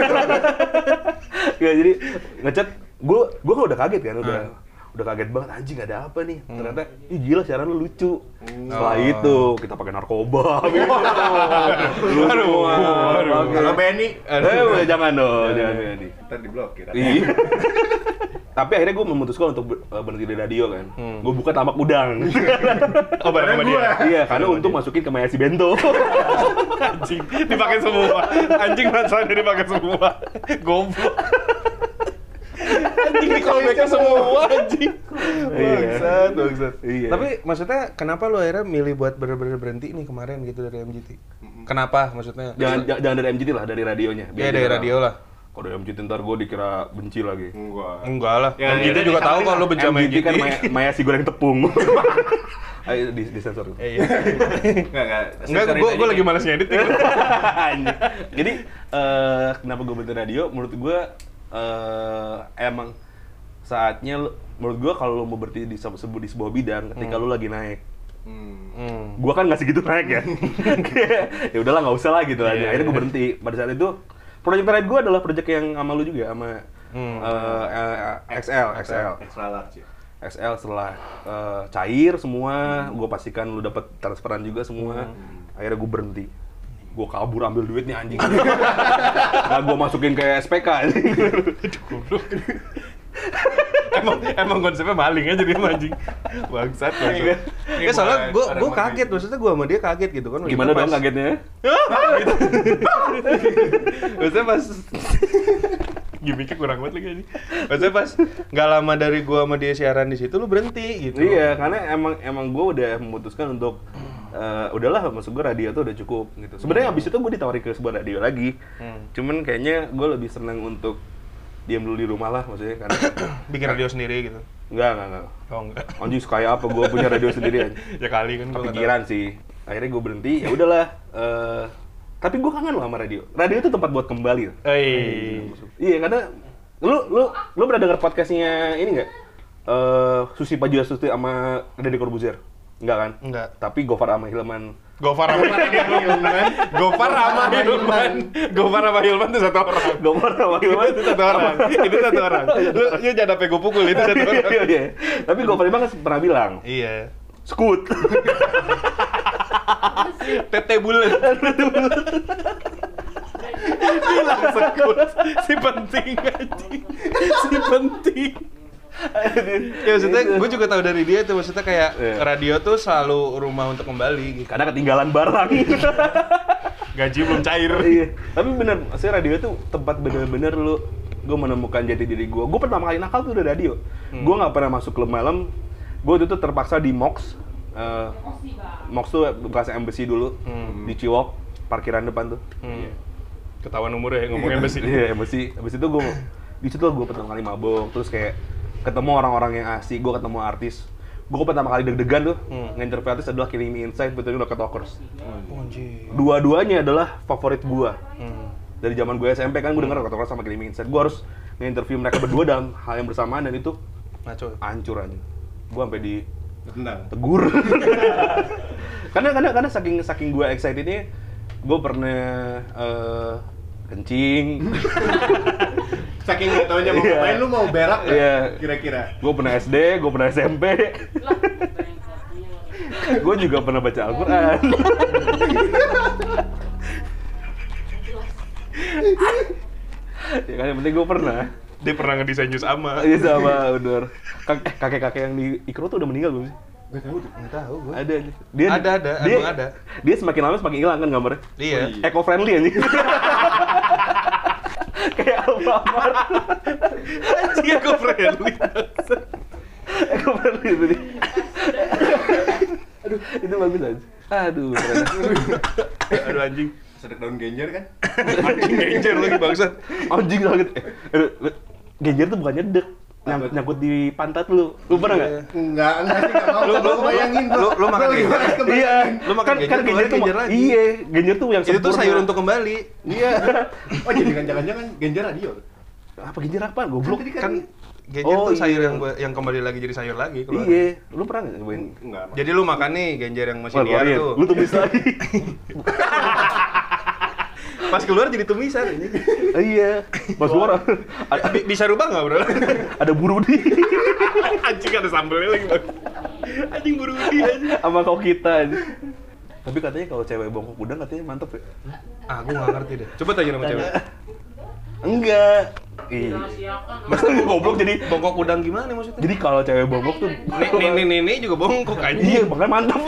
Speaker 2: Ya jadi ngechat gue kan udah kaget kan udah kaget banget anjing ada apa nih ternyata gila siaran lu lucu. Setelah itu kita pakai narkoba
Speaker 1: Kalau Benny,
Speaker 2: jangan dong jangan Benny.
Speaker 1: ntar diblokir.
Speaker 2: Iya. Tapi akhirnya gue memutuskan untuk berhenti di radio kan. Gue buka tambak udang.
Speaker 3: Oh bareng sama dia.
Speaker 2: Iya, karena untuk masukin ke Mayasi Bento.
Speaker 3: Anjing, dipakai semua. Anjing masalahnya dipakai semua. Goblok. Anjing di callback semua anjing. Bangsat.
Speaker 2: Iya.
Speaker 3: Tapi maksudnya kenapa lu akhirnya milih buat bener-bener berhenti nih kemarin gitu dari MGT? Kenapa maksudnya?
Speaker 2: Jangan dari MGT lah, dari radionya.
Speaker 3: Ya dari radio lah.
Speaker 2: Kalau dari MGT ntar gue dikira benci lagi.
Speaker 3: Enggak lah.
Speaker 1: Ya,
Speaker 3: MGT
Speaker 1: ya,
Speaker 3: juga
Speaker 1: ya,
Speaker 3: tahu
Speaker 1: ya,
Speaker 3: kalau lu benci sama
Speaker 2: MGT
Speaker 3: MGT.
Speaker 2: kan Mayasi goreng tepung. Ayo di sensor.
Speaker 3: Iya.
Speaker 1: Enggak,
Speaker 3: Gue lagi malas ngedit nih.
Speaker 2: Jadi kenapa gue berhenti radio? Menurut gue emang saatnya menurut gue kalau lo mau berhenti di sebuah bidang ketika lo lagi naik. Gue kan nggak segitu naik ya. Ya udahlah nggak usah lah gitu aja. Akhirnya gue berhenti. Pada saat itu proyek terakhir gue adalah proyek yang sama lu juga sama XL.
Speaker 1: Extra large.
Speaker 2: XL setelah cair semua, gue pastikan lu dapat transferan juga semua. Akhirnya gue berhenti. Gue kabur ambil duitnya anjing. Nah, gue masukin ke SPK.
Speaker 3: Emang konsepnya maling aja dia anjing. Bangsat. Ya soalnya gue kaget, maksudnya gue sama dia kaget gitu kan.
Speaker 2: Gimana dong kagetnya?
Speaker 3: Maksudnya pas gimmicknya kurang banget lagi aja. Maksudnya pas nggak lama dari gue sama dia siaran di situ lu berhenti gitu.
Speaker 2: Iya, karena emang gue udah memutuskan untuk udahlah, maksud gue radio tuh udah cukup gitu. Sebenarnya abis itu gue ditawarin ke sebuah radio lagi. Cuman kayaknya gue lebih seneng untuk diam dulu di rumah lah, maksudnya karena
Speaker 3: Bikin radio sendiri gitu.
Speaker 2: enggak.
Speaker 3: Oh enggak.
Speaker 2: Anjing kayak apa gue punya radio sendiri aja.
Speaker 3: Ya kali kan gua nggak
Speaker 2: Kepikiran sih. Akhirnya gue berhenti, ya udahlah. Tapi gue kangen loh sama radio. Radio itu tempat buat kembali.
Speaker 3: tahu.
Speaker 2: Iya, karena lu pernah denger podcastnya ini nggak? Susi Pujiastuti sama Deddy Corbuzier? Enggak kan?
Speaker 3: Enggak.
Speaker 2: Tapi Gofar sama Hilman.
Speaker 3: Gofar sama Hilman itu satu orang.
Speaker 2: Gofar sama Hilman
Speaker 3: Itu satu orang. Itu satu orang. Lu jangan sampai gue pukul, itu satu orang.
Speaker 2: Iya. Tapi Gofar Hilman kan pernah bilang,
Speaker 3: Iya.
Speaker 2: Skut.
Speaker 3: Tete bulat. Bilang sekut. Si penting anjing. Si penting. Ya maksudnya gue juga tahu dari dia tuh, maksudnya kayak radio tuh selalu rumah untuk kembali gitu.
Speaker 2: Karena ketinggalan barang.
Speaker 3: Gaji belum cair.
Speaker 2: Iya. Tapi bener, maksudnya radio tuh tempat bener-bener gue menemukan jati diri gue. Gue pertama kali nakal tuh udah radio. Gue nggak pernah masuk klub malam. Gue tuh terpaksa di Mox. Mox tuh bekas embassy dulu di Ciwok, parkiran depan tuh.
Speaker 3: Ketahuan umurnya ngomongin besi.
Speaker 2: Iya, embassy. Abis itu gue di situ gue pertama kali mabok, terus kayak ketemu orang-orang yang asik, gue ketemu artis. Gue pertama kali deg-degan tuh nge-interview artis adalah Killing Me Inside, betulnya Rocket Talkers. Dua-duanya adalah favorit gue. Dari zaman gue SMP kan gue denger Rocket Talkers sama Killing Me Inside. Gue harus nge-interview mereka berdua dalam hal yang bersamaan dan itu hancur aja. Gue sampai tegur. karena saking gue excitednya, gue pernah kencing.
Speaker 1: Saking nggak taunya mau ngapain, lu mau berak nggak?
Speaker 2: Iya.
Speaker 1: Kira-kira.
Speaker 2: Gue pernah SD, gue pernah SMP. Gue juga pernah baca Al-Quran. Ya kan, yang penting gue pernah.
Speaker 3: Dia pernah ngedesain jus ama.
Speaker 2: Iya sama, bener. Kakek-kakek yang di Ikro tuh udah meninggal belum sih?
Speaker 3: Nggak tahu gue.
Speaker 2: Ada aja.
Speaker 3: Emang ada.
Speaker 2: Dia semakin lama semakin hilang kan gambarnya.
Speaker 3: Iya.
Speaker 2: Eco-friendly anjing. Kayak Alfamart.
Speaker 3: Anjing aku friendly.
Speaker 2: Eco-friendly itu dia. Aduh, itu bagus aja. Aduh, keren.
Speaker 3: Aduh anjing.
Speaker 1: Sedek daun genjer kan?
Speaker 3: Anjing genjer lagi bangsat.
Speaker 2: Anjing sakit. Genjer tuh bukan nyedek. Nyangkut di pantat lu. Lu pernah enggak?
Speaker 1: Enggak sih, enggak mau. Lu bayangin, bro.
Speaker 3: Lu makan genjer?
Speaker 2: Iya.
Speaker 3: Lu makan genjer,
Speaker 2: kan genjer tuh
Speaker 3: genjer lagi.
Speaker 2: Iya, genjer tuh yang
Speaker 3: Itu tuh
Speaker 2: sempurna.
Speaker 3: sayur untuk kembali.
Speaker 2: Iya.
Speaker 1: Oh, jadi kan jangan-jangan genjer radio.
Speaker 2: Apa genjer apaan? Goblok.
Speaker 3: Kan genjer
Speaker 2: Oh,
Speaker 3: tuh sayur
Speaker 2: iya.
Speaker 3: yang kembali lagi jadi sayur lagi keluar.
Speaker 2: Iya, lu pernah nggak nyobain?
Speaker 1: Enggak.
Speaker 3: Jadi lu makan nih genjer yang masih liar
Speaker 2: keluarin.
Speaker 3: tuh.
Speaker 2: Lu tumis lagi.
Speaker 3: Pas keluar jadi tumisan ini.
Speaker 2: Iya. Pas keluar
Speaker 3: Bisa rubah nggak bro?
Speaker 2: ada burudi
Speaker 3: Anjing ada sambelnya lagi bang. Anjing burudi aja.
Speaker 2: sama kau kita aja. Tapi katanya kalau cewek bongkok udang katanya mantep ya?
Speaker 3: Ah, gue nggak ngerti deh. Coba tanya sama cewek.
Speaker 2: Enggak. Iya. Maksudnya gue goblok jadi.
Speaker 3: Bongkok udang gimana maksudnya?
Speaker 2: Jadi kalau cewek bongkok tuh.
Speaker 3: Ini juga bongkok anjing.
Speaker 2: Iya, makanya mantap.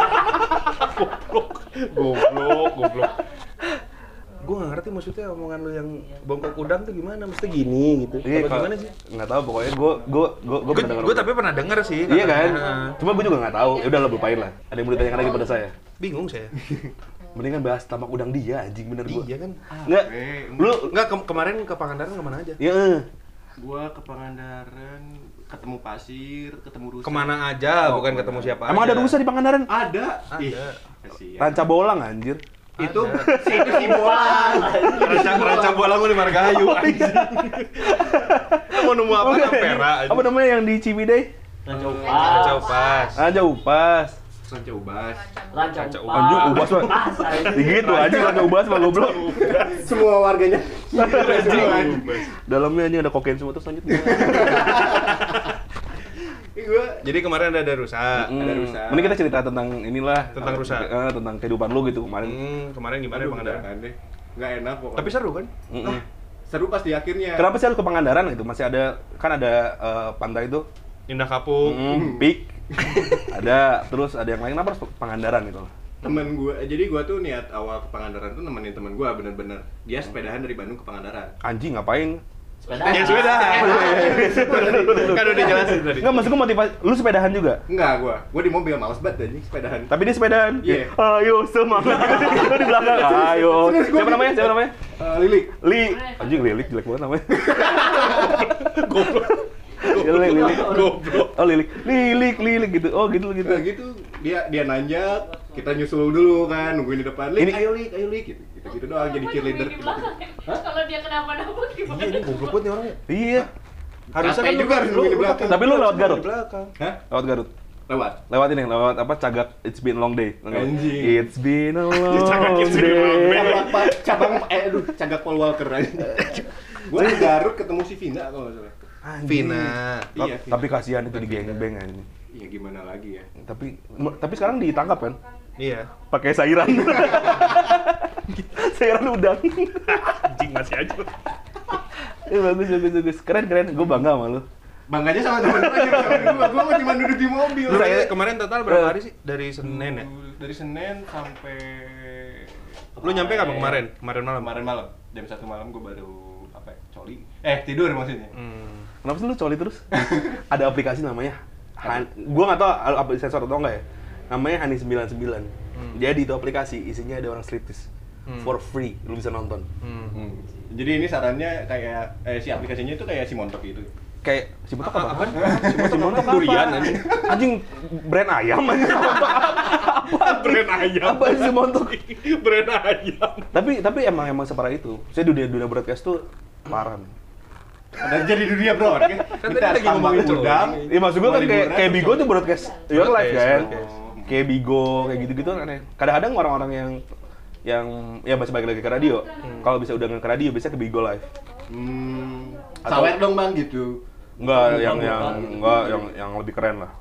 Speaker 3: Goblok. Gue nggak ngerti maksudnya omongan lu yang bongkok udang tuh gimana? Maksudnya gini gitu.
Speaker 2: Iya,
Speaker 3: Apa gimana sih?
Speaker 2: Nggak tahu, pokoknya gue pernah dengar.
Speaker 3: Gue tapi pernah denger sih.
Speaker 2: Iya kan?
Speaker 3: katanya.
Speaker 2: Cuma gue juga nggak tahu. Ya udah, lo lupain lah. Ada yang mau ditanyakan lagi pada saya.
Speaker 3: Bingung saya.
Speaker 2: Mendingan bahas tamak udang dia, anjing bener gue.
Speaker 3: Iya kan?
Speaker 2: Enggak. Lu
Speaker 3: Enggak kemarin ke Pangandaran kemana aja?
Speaker 2: ya
Speaker 1: Gua ke Pangandaran, ketemu pasir, ketemu rusa.
Speaker 3: Kemana aja, bukan ketemu siapa
Speaker 2: emang
Speaker 3: aja.
Speaker 2: ada rusa di Pangandaran?
Speaker 1: Ada. Ih,
Speaker 3: Ada.
Speaker 1: kasihan.
Speaker 2: Ranca bolang anjir.
Speaker 1: Itu si bolang.
Speaker 3: Ranca bolang di Margahayu. Mau nemu apa? Ampera aja.
Speaker 2: Apa namanya yang di Ciwidey?
Speaker 3: Ranca Upas.
Speaker 2: Ranca Upas.
Speaker 1: Ranca Ubas.
Speaker 3: Ranca Upas.
Speaker 2: Anjing Ubas mah. Gitu anjing Ranca Ubas mah goblok.
Speaker 1: Semua warganya.
Speaker 2: Dalamnya anjing ada kokain semua terus lanjut.
Speaker 1: Gua
Speaker 3: Jadi kemarin ada rusa.
Speaker 1: Ada rusa.
Speaker 2: Mending kita cerita tentang inilah.
Speaker 3: Tentang rusa.
Speaker 2: Tentang kehidupan lu gitu kemarin.
Speaker 3: Kemarin gimana
Speaker 1: Aduh,
Speaker 3: Pangandaran?
Speaker 1: jangan deh. Nggak enak pokoknya.
Speaker 3: Tapi seru kan?
Speaker 1: Seru pas di akhirnya.
Speaker 2: Kenapa sih lu ke Pangandaran gitu? Masih ada, kan ada pantai itu.
Speaker 3: Indah Kapuk.
Speaker 2: Peak. Ada, terus ada yang lain, kenapa harus Pangandaran gitu?
Speaker 1: Temen gua, jadi gua tuh niat awal ke Pangandaran tuh nemenin temen gua bener-bener. Dia sepedahan dari Bandung ke Pangandaran.
Speaker 2: Anjing ngapain?
Speaker 4: Sepeda.
Speaker 3: Ya sepedahan. Kan udah dijelasin tadi.
Speaker 2: Enggak, maksud gue motivasi, lu sepedahan juga?
Speaker 1: Enggak, gua di mobil males banget anjing sepedahan.
Speaker 2: Tapi dia sepedahan?
Speaker 1: Iya.
Speaker 2: Ayo semangat. Lu di belakang, ayo.
Speaker 1: Serius, gua
Speaker 2: Siapa namanya? Siapa namanya?
Speaker 1: Lilik.
Speaker 2: Anjing Lilik, jelek banget namanya.
Speaker 3: Goblok.
Speaker 2: Lilik.
Speaker 3: Goblok.
Speaker 2: Oh Lilik gitu. Oh gitu.
Speaker 1: Nah gitu, dia nanjak, kita nyusul dulu kan, nungguin di depan. Lik, ayo Lik gitu. Gitu doang jadi cheerleader.
Speaker 5: Di belakang ya? Kalau dia kenapa-napa gimana?
Speaker 3: Iya, ini goblok banget nih orangnya.
Speaker 2: Iya.
Speaker 1: Harusnya kan juga harus nungguin di belakang.
Speaker 2: Tapi lu lewat Garut?
Speaker 3: Di belakang.
Speaker 1: Hah?
Speaker 2: Lewat Garut.
Speaker 1: Lewat
Speaker 2: Lewat apa Cagak It's Been a Long Day.
Speaker 1: Anjing.
Speaker 2: It's been a long
Speaker 3: Cagak It's Been a Long Day.
Speaker 1: cabang Cagak Paul Walker aja. Gua di Garut ketemu si Vina kalau nggak salah.
Speaker 3: Vina.
Speaker 1: Iya,
Speaker 2: Tapi kasihan itu di geng-geng anjing.
Speaker 1: Iya gimana lagi ya?
Speaker 2: Tapi sekarang ditangkap kan?
Speaker 3: Iya.
Speaker 2: Pakai sairan. Sairan udang.
Speaker 3: Anjing masih aja.
Speaker 2: Bagus. Keren. Gue bangga sama lu.
Speaker 1: Bangganya sama teman-teman gua mah cuma duduk di mobil.
Speaker 2: Terus saya-
Speaker 3: Kemarin total berapa hari sih? Dari Senin ya?
Speaker 1: Dari Senin sampai
Speaker 3: Lu nyampe kapan kemarin? Kemarin malam.
Speaker 1: Kemarin malam. Jam 1 malam gua baru coli. Tidur maksudnya.
Speaker 2: Kenapa sih lu coli terus? Ada aplikasi namanya gua nggak tahu apa sensor atau enggak ya. Namanya Hani 99. Jadi itu aplikasi isinya ada orang striptease. For free, lu bisa nonton.
Speaker 1: Jadi ini sarannya kayak si aplikasinya itu kayak si Montok gitu.
Speaker 2: Kayak si Montok apa?
Speaker 3: Apaan?
Speaker 2: Si Montok
Speaker 3: Durian,
Speaker 2: apa?
Speaker 3: anjing.
Speaker 2: Anjing brand ayam anjing.
Speaker 3: Brand ayam.
Speaker 2: Apa sih si Montok?
Speaker 3: Brand ayam.
Speaker 2: Tapi emang separah itu. Saya dunia broadcast tuh parah.
Speaker 1: Ada jadi dunia bro. Kan
Speaker 3: tadi lagi ngomongin coli.
Speaker 2: Iya maksud gua kan kayak Bigo tuh broadcast your live kan.
Speaker 3: Broadcast.
Speaker 2: Kayak Bigo kayak gitu-gitu kan aneh. Kadang-kadang orang-orang yang ya masih balik lagi ke radio. Kalau bisa udah nggak ke radio bisa ke Bigo live.
Speaker 1: Sawer dong bang gitu.
Speaker 2: Enggak yang lebih keren lah.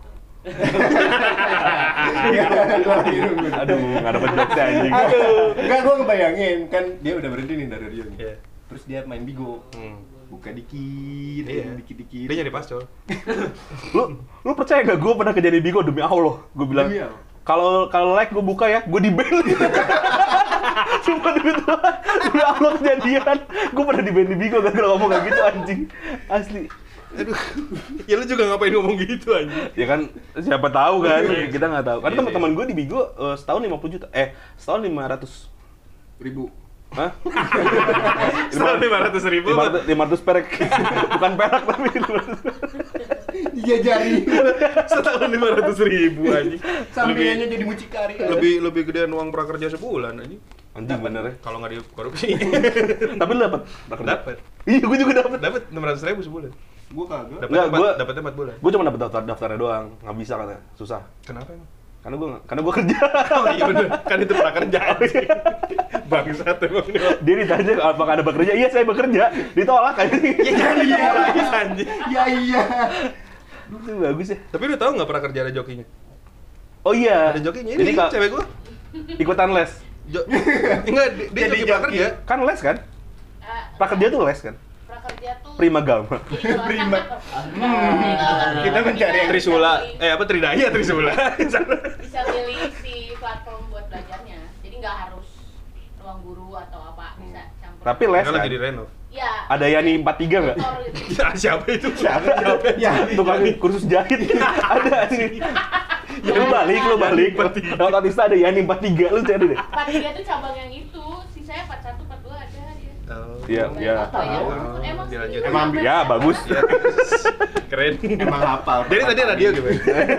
Speaker 2: Aduh, nggak dapet jokesnya anjing.
Speaker 1: Enggak, gua ngebayangin kan dia udah berhenti nih dari radio nih.
Speaker 3: Iya.
Speaker 1: Terus dia main Bigo. Buka dikit,
Speaker 3: Iya.
Speaker 1: dikit.
Speaker 3: Dia nyari pascol.
Speaker 2: Lu percaya gak gue pernah kerja di Bigo demi Allah? Gue bilang
Speaker 1: Demi Allah.
Speaker 2: kalau like gue buka ya, gue di ban. Sumpah demi Tuhan, demi Allah kejadian. Gue pernah di ban di Bigo gara-gara ngomong kayak gitu anjing. Asli.
Speaker 3: Aduh. Ya lu juga ngapain ngomong gitu anjing?
Speaker 2: Ya kan siapa tahu kan, kita nggak tahu. Karena
Speaker 3: Iya,
Speaker 2: teman-teman gue di Bigo setahun 50 juta. Setahun 500
Speaker 1: ribu.
Speaker 2: Hah?
Speaker 3: Setahun 500.000.
Speaker 2: 500 perak. Bukan perak tapi 500.
Speaker 1: Iya jari.
Speaker 3: Setahun 500.000 anjing.
Speaker 1: Sampingannya jadi mucikari.
Speaker 3: Lebih gedean uang prakerja sebulan anjing.
Speaker 2: Anjing bener ya.
Speaker 3: Kalau nggak dikorupsi.
Speaker 2: Tapi lu dapat?
Speaker 3: Dapat.
Speaker 2: Iya, gue juga dapat.
Speaker 3: Dapat 600.000 sebulan.
Speaker 1: Gua kagak.
Speaker 3: Dapatnya 4 bulan.
Speaker 2: Gue cuma dapat daftarnya doang, nggak bisa katanya, susah.
Speaker 3: Kenapa emang?
Speaker 2: Karena gue kerja.
Speaker 3: Oh iya bener, kan itu prakerja anjing. Bangsat emang ini.
Speaker 2: Dia ditanya apakah ada bekerja, iya saya bekerja, ditolak kan.
Speaker 3: Iya anjing.
Speaker 1: Iya.
Speaker 2: Itu bagus ya.
Speaker 3: Tapi lu tahu nggak prakerja ada jokinya?
Speaker 2: Oh iya.
Speaker 3: Ada jokinya
Speaker 2: Jadi
Speaker 3: ini cewek gua.
Speaker 2: ikutan les.
Speaker 3: Enggak, dia
Speaker 1: Jadi
Speaker 3: joki
Speaker 1: joki.
Speaker 3: prakerja.
Speaker 2: Kan les kan? Prakerja tuh les kan?
Speaker 5: Prakerja tuh
Speaker 2: Prima Gama.
Speaker 1: Prima. Kita mencari yang
Speaker 3: Trisula, apa Tridaya Trisula.
Speaker 5: bisa milih si platform buat belajarnya. Jadi nggak harus ruang guru atau apa, bisa campur.
Speaker 2: Tapi les
Speaker 3: Kan
Speaker 2: kan?
Speaker 3: lagi di renov.
Speaker 5: Ya.
Speaker 2: Ada Yani 43 nggak?
Speaker 5: tutor gitu.
Speaker 3: Siapa itu?
Speaker 1: Ya,
Speaker 2: Tukang kursus jahit. Ada sih. Lu balik. Kalau Tatista ada Yani 43, lu cari deh.
Speaker 5: 43 tuh cabang yang itu, sisanya 41, 42 ada dia.
Speaker 2: Iya, iya.
Speaker 5: Emang
Speaker 3: Dilanjut.
Speaker 1: Emang
Speaker 2: Ya, bagus.
Speaker 3: Keren.
Speaker 1: emang hafal.
Speaker 3: Jadi tadi radio gimana?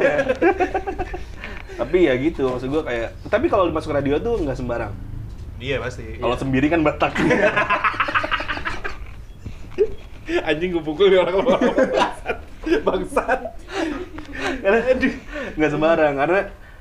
Speaker 2: Tapi ya gitu, maksud gue kayak. Tapi kalau masuk radio tuh nggak sembarang.
Speaker 3: Iya pasti.
Speaker 2: Kalau sendiri kan Batak.
Speaker 3: Anjing gue pukul orang bangsat.
Speaker 2: Karena nggak sembarang, karena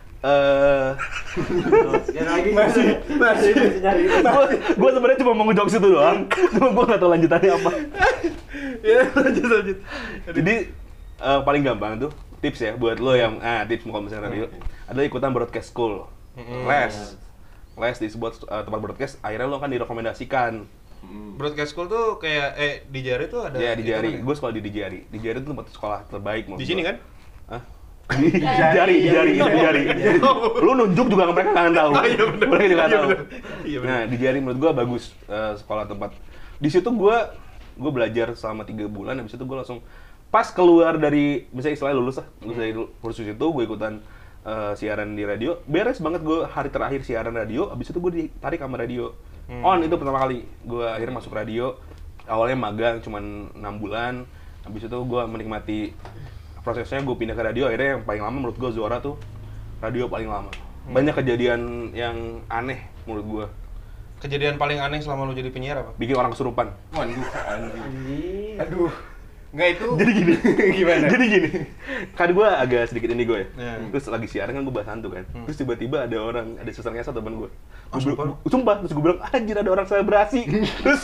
Speaker 1: masih nyari.
Speaker 2: gue sebenarnya cuma mau ngejokes itu doang, cuma gue nggak tahu lanjutannya apa.
Speaker 3: Ya lanjut.
Speaker 2: Jadi paling gampang tuh tips ya buat lo yang tips kalau misalnya radio adalah ikutan broadcast school, les di sebuah tempat broadcast. Akhirnya lo kan direkomendasikan.
Speaker 3: Broadcast school tuh kayak di Jari tuh ada.
Speaker 2: Ya di Jari,
Speaker 3: mana?
Speaker 2: gue sekolah di Jari. Di Jari itu tempat sekolah terbaik menurut
Speaker 3: Di sini
Speaker 2: gua.
Speaker 3: kan?
Speaker 2: Hah? Di Jari. Lu nunjuk juga mereka nggak tahu.
Speaker 3: Oh, iya bener.
Speaker 2: Mereka juga nggak
Speaker 3: Iya
Speaker 2: tahu.
Speaker 3: bener. Iya bener.
Speaker 2: Nah di Jari menurut gua bagus sekolah tempat. Di situ gua gue belajar selama 3 bulan, habis itu gue langsung pas keluar dari, misalnya istilahnya lulus dari kursus itu, gue ikutan siaran di radio, beres banget gue hari terakhir siaran radio, habis itu gue ditarik sama radio. Itu pertama kali gue akhirnya masuk radio, awalnya magang cuman 6 bulan, habis itu gue menikmati prosesnya, gue pindah ke radio, akhirnya yang paling lama menurut gue Zuara tuh radio paling lama. Banyak kejadian yang aneh menurut gue.
Speaker 3: Kejadian paling aneh selama lu jadi penyiar apa?
Speaker 2: Bikin orang kesurupan.
Speaker 1: Waduh, anjing. Aduh. Enggak itu.
Speaker 2: Jadi gini.
Speaker 1: Gimana?
Speaker 2: Jadi gini. Kan gue agak sedikit ini gue ya.
Speaker 3: Iya.
Speaker 2: Terus lagi siaran kan gue bahas hantu kan. Terus tiba-tiba ada suster ngesot temen gue.
Speaker 3: Sumpah?
Speaker 2: Sumpah. Terus gue bilang, anjir ada orang selebrasi. Terus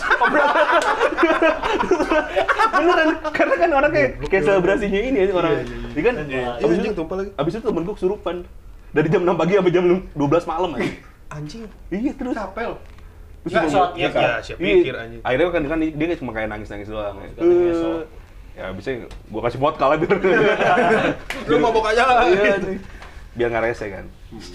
Speaker 2: beneran. Karena kan orang kayak selebrasinya ini ya orang. Jadi kan
Speaker 3: Anjing tumpah lagi.
Speaker 2: abis itu temen gue kesurupan. Dari jam 6 pagi sampai jam 12 malam aja.
Speaker 3: Anjing.
Speaker 2: Iya terus.
Speaker 1: Capel.
Speaker 2: Terus
Speaker 1: Nggak,
Speaker 2: gua-
Speaker 1: shot,
Speaker 3: Ya,
Speaker 1: kan?
Speaker 3: siap
Speaker 2: Iya.
Speaker 3: pikir anjing.
Speaker 2: Akhirnya kan dia cuma kayak nangis-nangis doang.
Speaker 1: ngesot.
Speaker 2: Ya abisnya gua kasih vodka lah biar
Speaker 3: Lu mabok aja lah.
Speaker 2: Iya, biar nggak rese kan.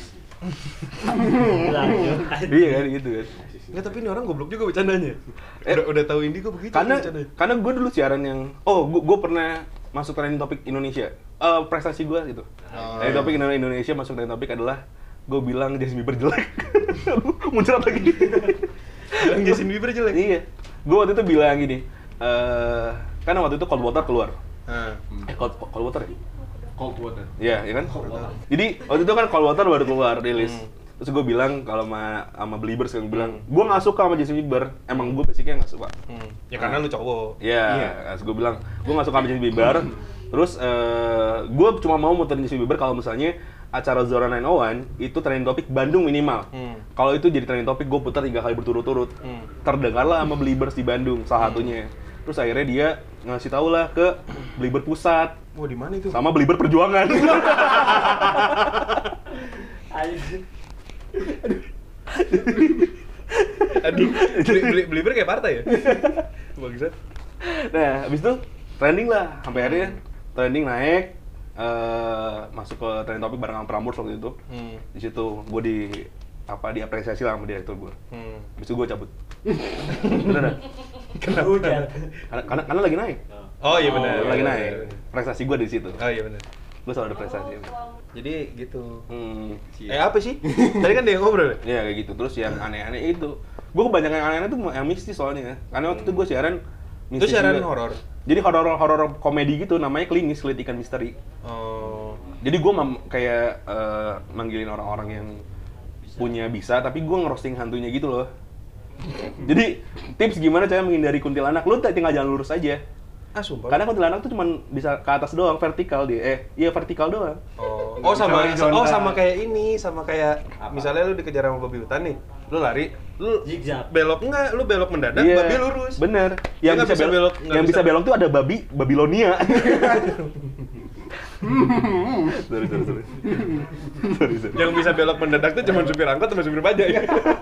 Speaker 2: Iya kan gitu kan.
Speaker 3: Enggak, tapi ini orang goblok juga bercandanya. Udah tahu Indi kok begitu bercandanya.
Speaker 2: Karena gue dulu siaran yang gue pernah masuk trending topik Indonesia. Prestasi gue gitu. Trending topik Indonesia masuk trending topik adalah gue bilang Justin Bieber jelek. Muncrat lagi.
Speaker 3: Bilang Justin Bieber jelek.
Speaker 2: Iya. Gue waktu itu bilang gini. Kan waktu itu Cold Water keluar.
Speaker 3: Nah.
Speaker 2: Cold Water ya?
Speaker 1: Cold water.
Speaker 2: Iya, iya kan?
Speaker 1: Cold water.
Speaker 2: Jadi waktu itu kan Cold Water baru keluar rilis. Terus gue bilang kalau sama Beliebers kan bilang, gue nggak suka sama Justin Bieber. Emang gue basicnya nggak suka.
Speaker 3: Ya karena lu cowok.
Speaker 2: Iya. Terus gue bilang, gue nggak suka sama Justin Bieber. Terus gue cuma mau muterin Justin Bieber kalau misalnya acara Zora 901 itu trending topik Bandung minimal. Kalau itu jadi trending topik, gue putar 3 kali berturut-turut. Terdengarlah sama Beliebers di Bandung salah satunya. Terus akhirnya dia ngasih tau lah ke Belieber Pusat.
Speaker 3: Wah, di mana itu?
Speaker 2: Sama Belieber Perjuangan.
Speaker 3: Aduh, Belieber kayak partai ya? Bangsat.
Speaker 2: Nah, habis itu trending lah, sampai akhirnya trending naik, masuk ke trending topik bareng sama Prambors waktu itu. Di situ gue diapresiasi lah sama direktur gue. Habis itu gue cabut. Beneran.
Speaker 3: Kenapa? Hujan.
Speaker 2: Karena lagi naik.
Speaker 3: Oh iya benar.
Speaker 2: Lagi naik. Prestasi gue di situ.
Speaker 3: Oh iya benar.
Speaker 2: Gue selalu ada prestasi.
Speaker 3: Jadi gitu.
Speaker 2: Hmm.
Speaker 3: Apa sih? Tadi kan dia yang ngobrol.
Speaker 2: Ya kayak gitu. Terus yang aneh-aneh itu, gue kebanyakan yang aneh-aneh tuh yang mistis soalnya. Karena waktu itu gue siaran
Speaker 3: Itu siaran
Speaker 2: juga.
Speaker 3: horor.
Speaker 2: Jadi horor komedi gitu, namanya Klinis, Kulit Ikan Misteri.
Speaker 3: Oh.
Speaker 2: Jadi gue kayak manggilin orang-orang yang punya bisa, tapi gue ngerosting hantunya gitu loh. Jadi tips gimana cara menghindari kuntilanak, lu tinggal jalan lurus aja.
Speaker 3: Ah sumpah.
Speaker 2: Karena kuntilanak tuh cuma bisa ke atas doang, vertikal dia. Iya vertikal doang.
Speaker 3: Oh sama
Speaker 1: Horizontal.
Speaker 3: sama kayak ini, sama kayak misalnya lu dikejar sama babi hutan nih. Lu lari, lu
Speaker 4: Zigzag.
Speaker 3: belok enggak, lu belok mendadak,
Speaker 2: Iya,
Speaker 3: babi lurus.
Speaker 2: Bener.
Speaker 3: Dia
Speaker 2: Yang
Speaker 3: nggak
Speaker 2: bisa
Speaker 3: bisa
Speaker 2: belok,
Speaker 3: belok, nggak
Speaker 2: yang
Speaker 3: bisa.
Speaker 2: bisa belok tuh ada Babilonia. sorry.
Speaker 3: Yang bisa belok mendadak tuh cuma supir angkot sama supir bajaj.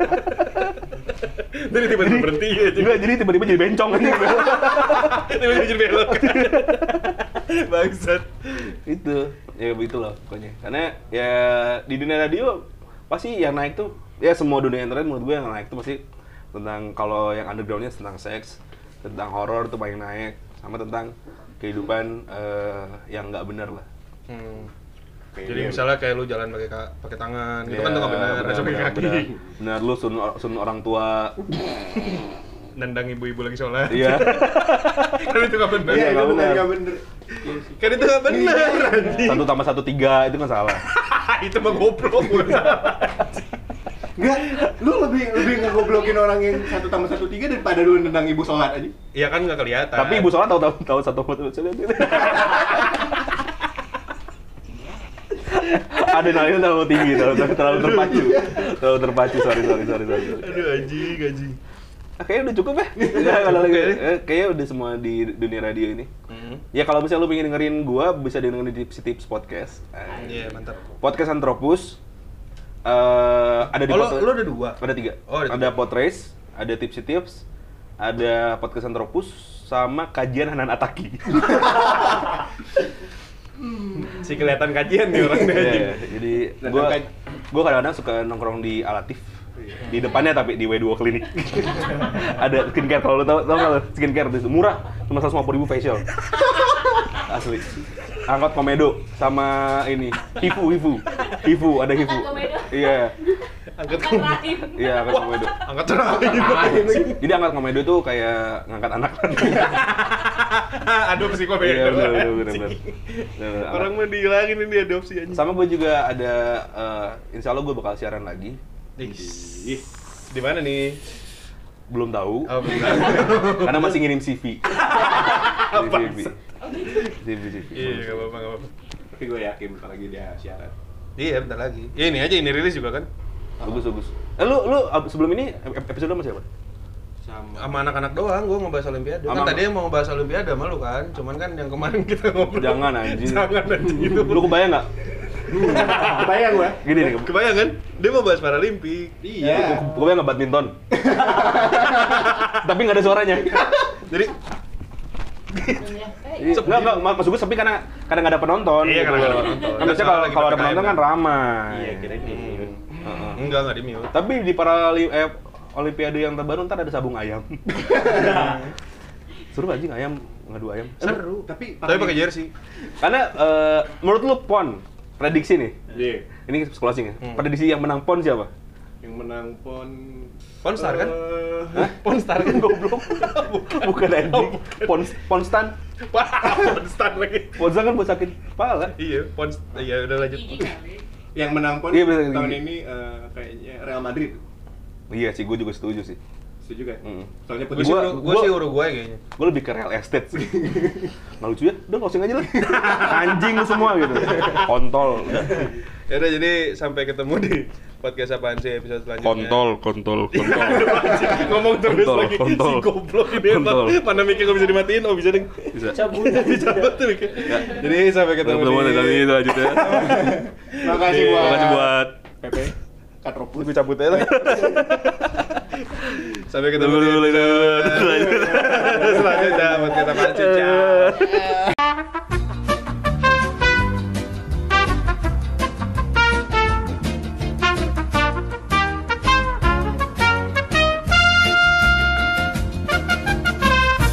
Speaker 3: Jadi tiba-tiba berhenti aja.
Speaker 2: Enggak, jadi tiba-tiba jadi bencong aja.
Speaker 3: Tiba-tiba jadi belok. Bangsat.
Speaker 2: Itu, ya begitu loh pokoknya. Karena ya di dunia radio pasti yang naik tuh, ya semua dunia internet menurut gue yang naik tuh pasti tentang, kalau yang undergroundnya tentang seks, tentang horor tuh paling naik, sama tentang kehidupan yang nggak benar lah.
Speaker 3: Jadi misalnya kayak lu jalan pakai tangan, itu kan tuh nggak benar, harus pakai kaki.
Speaker 2: Benar, lu sun orang tua.
Speaker 3: Nendang ibu-ibu lagi sholat.
Speaker 2: Iya.
Speaker 3: Kan itu nggak benar.
Speaker 2: Iya, nggak benar.
Speaker 1: Nggak bener.
Speaker 3: Kan itu nggak benar. anjing.
Speaker 2: 1+1=3 itu kan salah.
Speaker 3: Itu mah goblok.
Speaker 1: Enggak, lu lebih ngegoblokin orang yang 1+1=3 daripada lu nendang ibu sholat aja.
Speaker 3: Iya kan nggak kelihatan.
Speaker 2: Tapi ibu sholat tahu 1+1. Adrenalinnya terlalu tinggi, terlalu terpacu. Sorry.
Speaker 3: Aduh anjing.
Speaker 2: Kayaknya udah cukup ya. Kalau lagi, kayaknya udah semua di dunia radio ini. Ya kalau misalnya lu pengen dengerin gua, bisa dengerin di Tips Podcast.
Speaker 3: Iya mantap.
Speaker 2: Podcast Antropus. Ada di
Speaker 3: Lu ada 2?
Speaker 2: Ada 3.
Speaker 3: Oh, ada
Speaker 2: Ada Podrace, ada Tips, ada Podcast Antropus, sama Kajian Hanan Ataki.
Speaker 3: Si kelihatan kajian nih orang
Speaker 2: Iya, jadi gua kadang-kadang suka nongkrong di Alatif. Di depannya tapi di W2 Klinik. Ada skincare, kalau lo tau nggak lo? Skincare itu murah, cuma 150.000 facial. Asli. Angkot Komedo sama ini Hifu, ada Hifu.
Speaker 5: Angkot Komedo.
Speaker 2: Iya.
Speaker 3: Angkat
Speaker 5: Kan rahim.
Speaker 2: Iya, angkot Komedo.
Speaker 3: angkat rahim.
Speaker 2: Jadi angkot Komedo itu kayak ngangkat anak.
Speaker 3: Adopsi kok
Speaker 2: Iya,
Speaker 3: beda.
Speaker 2: bener.
Speaker 3: Orang mau dihilangin ini adopsi aja.
Speaker 2: Sama gue juga ada, insya Allah gue bakal siaran lagi.
Speaker 3: Ih, di mana nih?
Speaker 2: Belum tahu,
Speaker 3: Oh, benar.
Speaker 2: karena masih ngirim CV. CV.
Speaker 3: Iya, enggak apa-apa.
Speaker 1: Tapi gue yakin bentar lagi dia siaran.
Speaker 3: Iya, bentar lagi. Ya, ini aja ini rilis juga kan.
Speaker 2: Bagus. Lu sebelum ini episode sama siapa?
Speaker 3: Sama anak-anak doang, gua ngebahas Olimpiade. Kan
Speaker 2: Sama-
Speaker 3: tadi yang mau ngebahas Olimpiade sama lu kan. Cuman kan yang kemarin kita ngobrol.
Speaker 2: Jangan anjing.
Speaker 3: Jangan anjing itu.
Speaker 2: Lu kebayang nggak?
Speaker 1: Kebayang gue.
Speaker 2: Gini nih,
Speaker 3: Kebayang kan? Dia mau bahas Paralimpik.
Speaker 1: Iya.
Speaker 2: kebayang nggak badminton? Tapi nggak ada suaranya.
Speaker 3: Jadi
Speaker 2: Enggak, maksud gue sepi karena nggak ada penonton.
Speaker 3: Iya,
Speaker 2: gitu
Speaker 3: karena nggak ada
Speaker 2: loh.
Speaker 3: penonton.
Speaker 2: Kan biasanya
Speaker 3: Soalnya lagi
Speaker 2: kalau ada
Speaker 3: PPKM
Speaker 2: penonton kan
Speaker 3: kan.
Speaker 2: ramai.
Speaker 1: Iya, kirain di mute.
Speaker 2: Heeh.
Speaker 3: enggak di mute.
Speaker 2: Tapi di Olimpiade yang terbaru ntar ada sabung ayam. Seru anjing ayam, ngadu ayam.
Speaker 3: Seru.
Speaker 1: Tapi
Speaker 3: pakai jersey.
Speaker 2: Karena menurut lu PON, prediksi nih.
Speaker 1: Iya.
Speaker 2: Ini closing ya. Prediksi yang menang PON siapa?
Speaker 1: Yang menang pon
Speaker 3: Ponstar kan?
Speaker 1: Hah?
Speaker 2: Ponstar kan goblok. Bukan anjing. Ponstan.
Speaker 3: Ponstar lagi.
Speaker 2: Ponstan kan buat sakit kepala.
Speaker 3: Iya, iya udah lanjut.
Speaker 5: Gigi kali.
Speaker 1: Yang menang pon
Speaker 2: Iya, bener,
Speaker 1: tahun
Speaker 2: gini.
Speaker 1: ini kayaknya Real Madrid.
Speaker 2: Iya sih, gue juga setuju sih.
Speaker 1: Setuju kan?
Speaker 2: Mm.
Speaker 1: Soalnya
Speaker 3: Gue
Speaker 1: putih.
Speaker 3: sih Uruguay kayaknya.
Speaker 2: Gue lebih ke real estate sih. Nggak lucu ya? Udah closing aja lah. Anjing lu semua gitu. Kontol.
Speaker 3: Ya udah, jadi sampai ketemu di podcast apaan sih episode selanjutnya.
Speaker 2: Kontol.
Speaker 3: Ngomong terus
Speaker 2: Kontol,
Speaker 3: lagi
Speaker 2: kontol.
Speaker 3: si goblok ini
Speaker 2: Kontol.
Speaker 3: emang. Mana mikir nggak bisa dimatiin? Oh bisa deh.
Speaker 2: Bisa.
Speaker 3: Dicabut tuh mikir. Jadi sampai ketemu di
Speaker 2: itu aja ya.
Speaker 1: Makasih buat
Speaker 2: Makasih buat
Speaker 1: Pepe. Katropus.
Speaker 3: Gue cabut aja lah. Sampai ketemu di
Speaker 2: Dulu.
Speaker 3: episode selanjutnya buat kita pancing. Ciao.